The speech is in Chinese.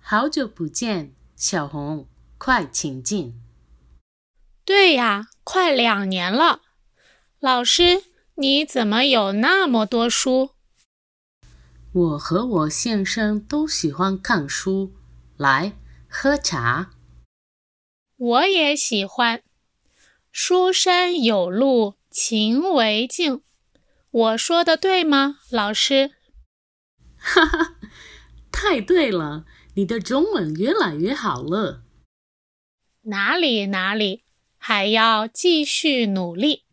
好久不见，小红，快请进。 对呀，快2年了。老师，你怎么有那么多书？ 我和我先生都喜欢看书。来，喝茶。 我也喜欢。书山有路勤为径。我说的对吗，老师？ 哈哈，太对了，你的中文越来越好了。 哪里，还要继续努力。